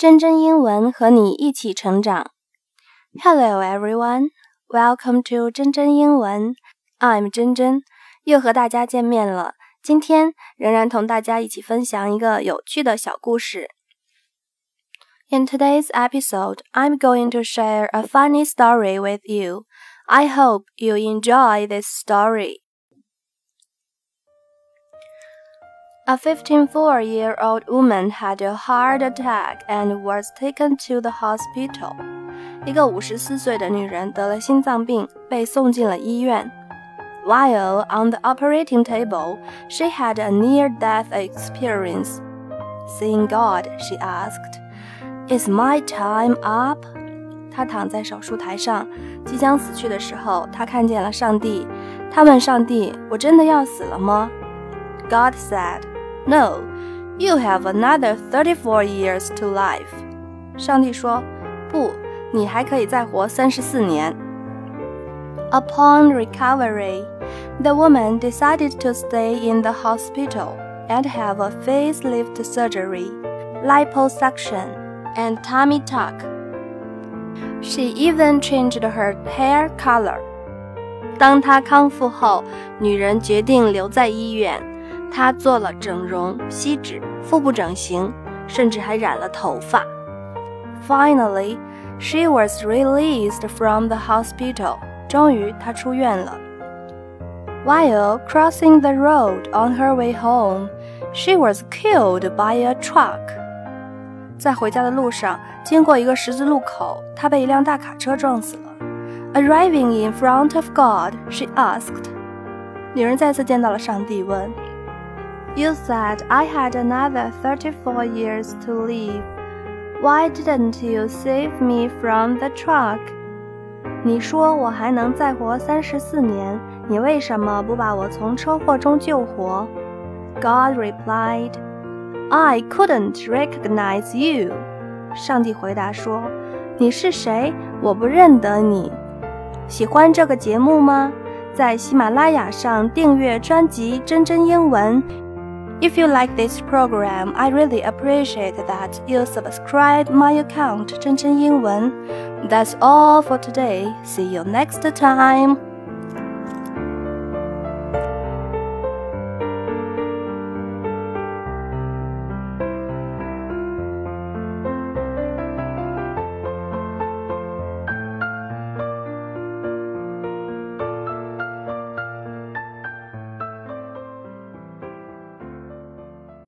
真真英文和你一起成长。Hello everyone, welcome to 真真英文。I'm 真真，又和大家见面了。今天仍然同大家一起分享一个有趣的小故事。In today's episode, I'm going to share a funny story with you. I hope you enjoy this story.A 54-year-old woman had a heart attack and was taken to the hospital. 一个54岁的女人得了心脏病，被送进了医院。While on the operating table, she had a near-death experience. Seeing God, she asked, "Is my time up?" 她躺在手术台上，即将死去的时候，她看见了上帝。她问上帝：“我真的要死了吗？” God said,No, you have another 34 years to life. 上帝说，不，你还可以再活34年。Upon recovery, the woman decided to stay in the hospital and have a facelift surgery, liposuction, and tummy tuck. She even changed her hair color. 当她康复后，女人决定留在医院。她做了整容、吸脂、腹部整形，甚至还染了头发。Finally, she was released from the hospital. 终于，她出院了。While crossing the road on her way home, she was killed by a truck. 在回家的路上，经过一个十字路口，她被一辆大卡车撞死了。Arriving in front of God, she asked. 女人再次见到了上帝，问：You said I had another 34 years to live. Why didn't you save me from the truck? 你说我还能再活34年，你为什么不把我从车祸中救活？ God replied, I couldn't recognize you. 上帝回答说，你是谁？我不认得你。喜欢这个节目吗？在喜马拉雅上订阅专辑真真英文。If you like this program, I really appreciate that you subscribe my account 真真英文。That's all for today. See you next time.